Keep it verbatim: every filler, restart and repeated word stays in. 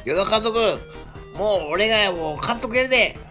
与田監督、もう俺がもう監督やるで。